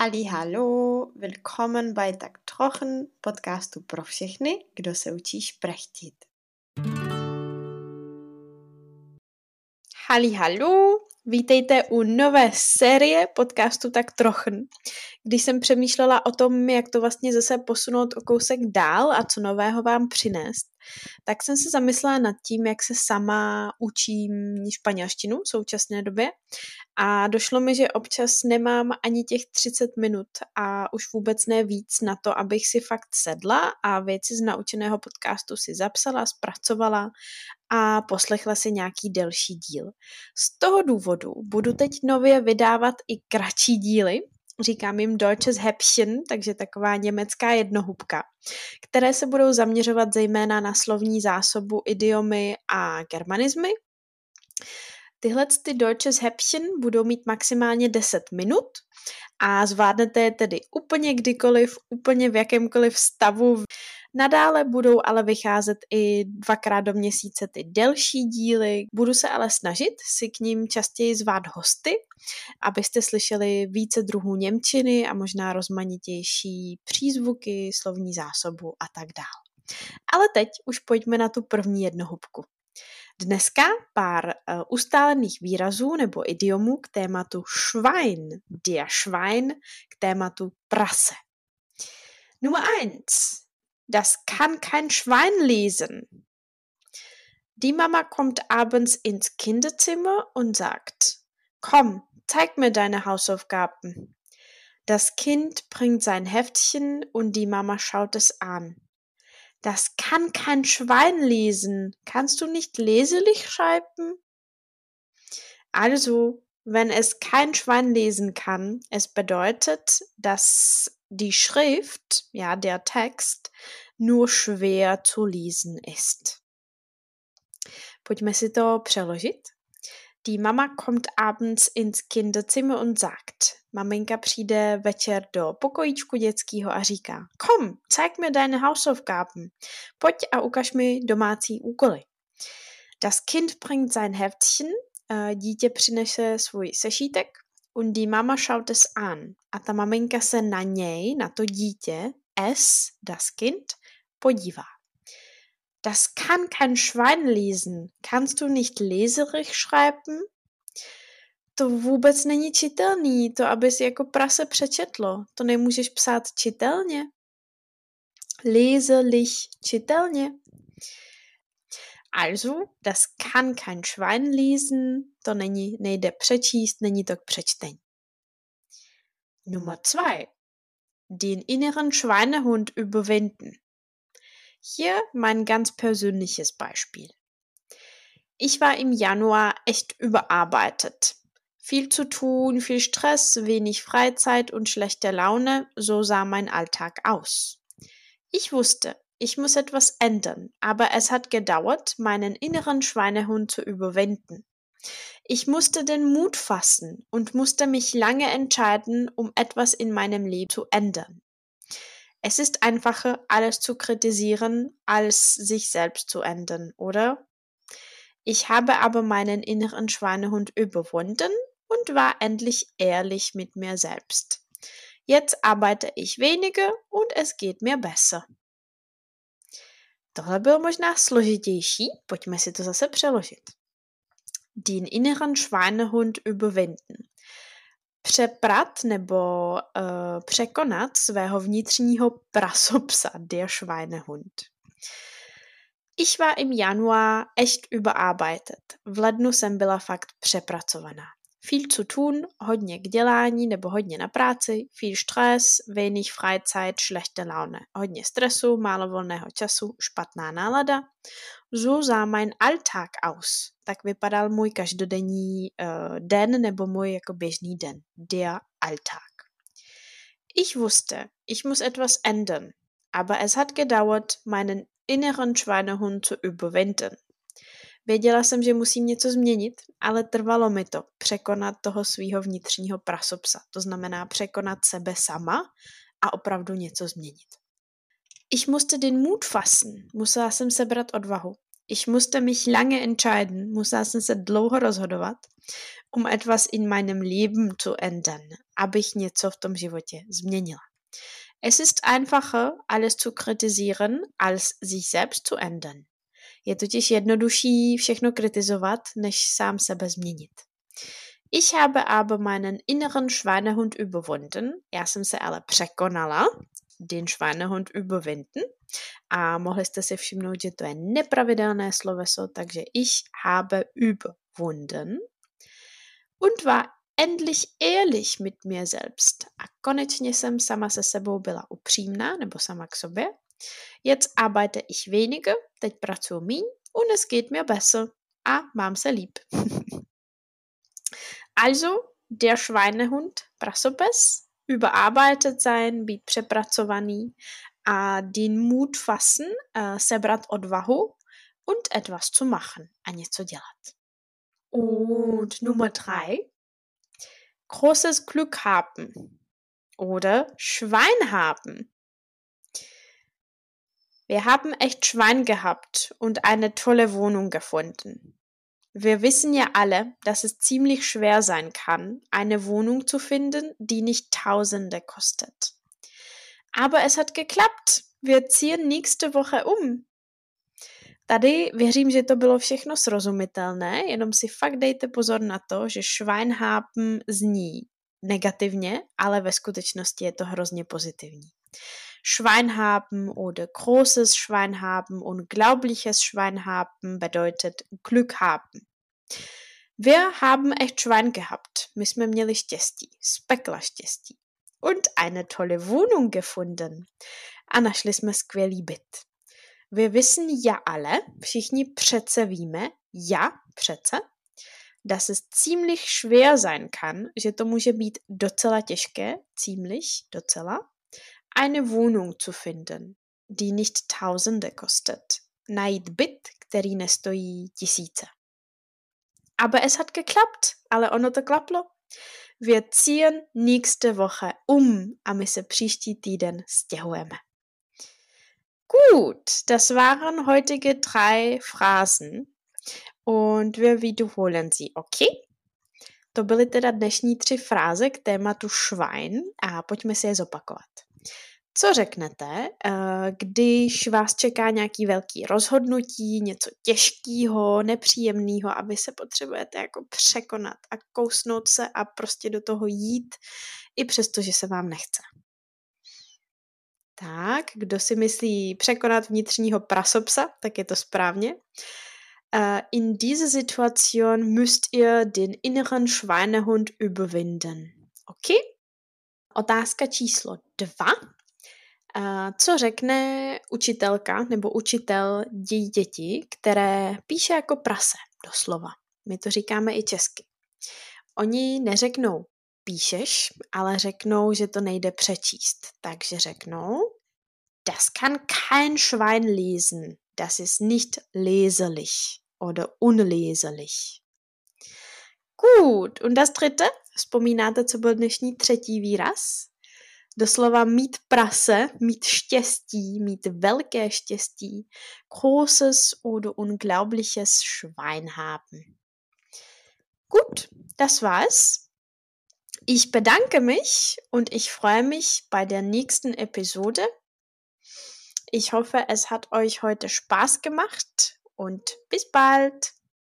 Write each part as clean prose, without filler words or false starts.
Hallo, willkommen bei Tak Trochen, podcastu pro všechny, kdo se učí šprechtit. Hallo, vítejte u nové série podcastu Tak Trochen. Když jsem přemýšlela o tom, jak to vlastně zase posunout o kousek dál a co nového vám přinést, tak jsem se zamyslela nad tím, jak se sama učím španělštinu v současné době a došlo mi, že občas nemám ani těch 30 minut a už vůbec ne víc na to, abych si fakt sedla a věci z naučeného podcastu si zapsala, zpracovala a poslechla si nějaký delší díl. Z toho důvodu budu teď nově vydávat i kratší díly, říkám jim Deutsches Häppchen, takže taková německá jednohubka, které se budou zaměřovat zejména na slovní zásobu, idiomy a germanizmy. Tyhle Deutsches Häppchen budou mít maximálně 10 minut a zvládnete je tedy úplně kdykoliv, úplně v jakémkoliv stavu. Nadále budou ale vycházet i 2krát do měsíce ty delší díly. Budu se ale snažit si k ním častěji zvát hosty, abyste slyšeli více druhů němčiny a možná rozmanitější přízvuky, slovní zásobu a tak dál. Ale teď už pojďme na tu první jednohubku. Dneska pár ustálených výrazů nebo idiomů k tématu Schwein, der Schwein, k tématu prase. Nummer 1. Das kann kein Schwein lesen. Die Mama kommt abends ins Kinderzimmer und sagt, komm, zeig mir deine Hausaufgaben. Das Kind bringt sein Heftchen und die Mama schaut es an. Das kann kein Schwein lesen. Kannst du nicht leserlich schreiben? Also, wenn es kein Schwein lesen kann, es bedeutet, dass die Schrift, ja, der Text, nur schwer zu lesen ist. Pojďme si to přeložit. Die Mama kommt abends ins Kinderzimmer und sagt, maminka přijde večer do pokojíčku dětského a říká, komm, zeig mir deine Hausaufgaben. Pojď a ukaž mi domácí úkoly. Das Kind bringt sein Heftchen, dítě přinese svůj sešítek und die Mama schaut es an. A ta maminka se na něj, na to dítě, das Kind, podívá. Das kann kein Schwein lesen. Kannst du nicht leserlich schreiben? To vůbec není čitelný, to abys jako prase přečetlo. To nemůžeš psát čitelně. Leserlich, čitelně. Also, das kann kein Schwein lesen. To nejde přečíst, není to k přečtení. Nummer 2. Den inneren Schweinehund überwinden. Hier mein ganz persönliches Beispiel. Ich war im Januar echt überarbeitet. Viel zu tun, viel Stress, wenig Freizeit und schlechte Laune, so sah mein Alltag aus. Ich wusste, ich muss etwas ändern, aber es hat gedauert, meinen inneren Schweinehund zu überwinden. Ich musste den Mut fassen und musste mich lange entscheiden, um etwas in meinem Leben zu ändern. Es ist einfacher, alles zu kritisieren, als sich selbst zu ändern, oder? Ich habe aber meinen inneren Schweinehund überwunden und war endlich ehrlich mit mir selbst. Jetzt arbeite ich weniger und es geht mir besser. Tohle bylo možná složitější, pojďme si to zase přeložit. Den inneren Schweinehund überwinden. Přeprat nebo překonat svého vnitřního prasopsa, der Schweinehund. Ich war im Januar echt überarbeitet. V lednu jsem byla fakt přepracovaná. Viel zu tun, hodně k dělání nebo hodně na práci, viel Stress, wenig Freizeit, schlechte Laune. Hodně stresu, málo volného času, špatná nálada. So sah mein Alltag aus. Tak vypadal můj každodenní den nebo můj jako běžný den. Der Alltag. Ich wusste, ich muss etwas ändern, aber es hat gedauert, meinen inneren Schweinehund zu überwinden. Věděla jsem, že musím něco změnit, ale trvalo mi to překonat toho svýho vnitřního prasopsa. To znamená překonat sebe sama a opravdu něco změnit. Ich musste den Mut fassen. Musela jsem sebrat odvahu. Ich musste mich lange entscheiden, musela jsem se dlouho rozhodovat, etwas in meinem Leben zu ändern, abych něco v tom životě změnila. Es ist einfacher, alles zu kritisieren, als sich selbst zu ändern. Je totiž jednodušší všechno kritizovat, než sám sebe změnit. Ich habe aber meinen inneren Schweinehund überwunden. Já jsem se ale překonala, den Schweinehund überwinden. A mohli jste si všimnout, že to je nepravidelné sloveso, takže ich habe überwunden. Und war endlich ehrlich mit mir selbst. A konečně jsem sama se sebou byla upřímná, nebo sama k sobě. Jetzt arbeite ich weniger, teď pracuji míň und es geht mir besser. A mám se líp. Also, der Schweinehund, prasopes, überarbeitet sein, být přepracovaný a den Mut fassen, sebrat odvahu und etwas zu machen, a něco dělat. Und Nummer 3, großes Glück haben oder Schwein haben. Wir haben echt Schwein gehabt und eine tolle Wohnung gefunden. Wir wissen ja alle, dass es ziemlich schwer sein kann, eine Wohnung zu finden, die nicht Tausende kostet. Aber es hat geklappt. Wir ziehen nächste Woche um. Tady věřím, že to bylo všechno srozumitelné, jenom si fakt dejte pozor na to, že Schweinhaben zní negativně, ale ve skutečnosti je to hrozně pozitivní. Schweinhaben oder großes Schweinhaben, unglaubliches Schweinhaben bedeutet Glück haben. Wir haben echt Schwein gehabt. My jsme měli štěstí, z pekla štěstí. Und eine tolle Wohnung gefunden. A našli jsme skvělý byt. Wir wissen ja alle, všichni přece víme, ja, přece, dass es ziemlich schwer sein kann, že to může být docela těžké, ziemlich, docela, eine Wohnung zu finden, die nicht Tausende kostet. Najít byt, který nestojí tisíce. Aber es hat geklappt, ale ono to klaplo. Wir ziehen nächste Woche a my se příští týden stěhujeme. Gut, das waren heutige 3 Phrasen und wir wiederholen sie, okay? To byly teda dnešní 3 fráze k tématu Schwein a pojďme si je zopakovat. Co řeknete, když vás čeká nějaký velký rozhodnutí, něco těžkého, nepříjemného a vy se potřebujete jako překonat a kousnout se a prostě do toho jít, i přesto, že se vám nechce. Tak, kdo si myslí překonat vnitřního prasopsa, tak je to správně. In dieser Situation müsst ihr den inneren Schweinehund überwinden. Okay? Otázka číslo 2. Co řekne učitelka nebo učitel děti, které píše jako prase, doslova. My to říkáme i česky. Oni neřeknou píšeš, ale řeknou, že to nejde přečíst. Takže řeknou, das kann kein Schwein lesen. Das ist nicht leserlich oder unleserlich. Gut, und das dritte? Vzpomínáte, co byl dnešní 3. výraz? Doslova mít prase, mít štěstí, mít velké štěstí. Großes oder unglaubliches Schwein haben. Gut, das war's. Ich bedanke mich und ich freue mich bei der nächsten Episode. Ich hoffe, es hat euch heute Spaß gemacht und bis bald.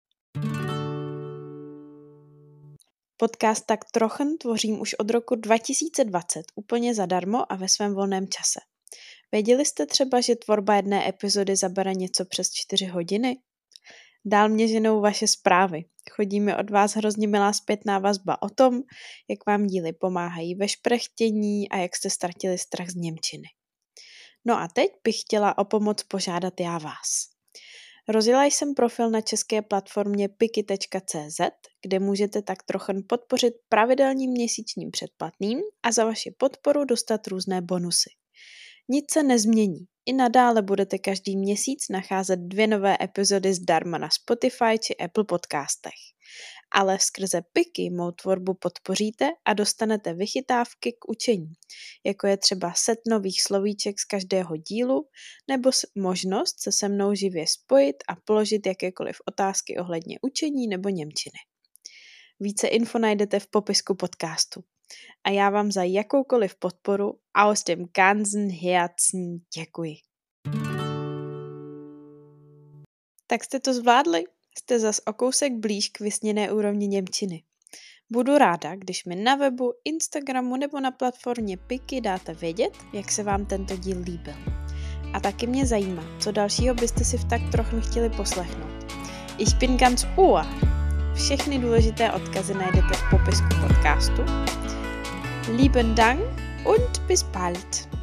Podcast Tak trochen tvořím už od roku 2020 úplně zadarmo a ve svém volném čase. Věděli jste třeba, že tvorba jedné epizody zabere něco přes 4 hodiny? Dál mě ženou vaše zprávy. Chodí mi od vás hrozně milá zpětná vazba o tom, jak vám díly pomáhají ve šprechtění a jak jste ztratili strach z němčiny. No a teď bych chtěla o pomoc požádat já vás. Rozjela jsem profil na české platformě piky.cz, kde můžete tak trochu podpořit pravidelným měsíčním předplatným a za vaši podporu dostat různé bonusy. Nic se nezmění. I nadále budete každý měsíc nacházet 2 nové epizody zdarma na Spotify či Apple podcastech. Ale skrze PIKy mou tvorbu podpoříte a dostanete vychytávky k učení, jako je třeba set nových slovíček z každého dílu nebo možnost se se mnou živě spojit a položit jakékoliv otázky ohledně učení nebo němčiny. Více info najdete v popisku podcastu. A já vám za jakoukoliv podporu aus dem ganzen Herzen děkuji. Tak jste to zvládli? Jste zas o kousek blíž k vysněné úrovni němčiny. Budu ráda, když mi na webu, Instagramu nebo na platformě PIKy dáte vědět, jak se vám tento díl líbil. A taky mě zajímá, co dalšího byste si v tak trochu chtěli poslechnout. Ich bin ganz Ohr. Všechny důležité odkazy najdete v popisku podcastu. Lieben Dank und bis bald.